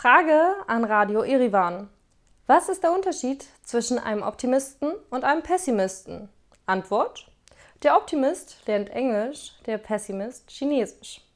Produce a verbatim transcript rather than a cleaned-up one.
Frage an Radio Erivan. Was ist der Unterschied zwischen einem Optimisten und einem Pessimisten? Antwort: Der Optimist lernt Englisch, der Pessimist Chinesisch.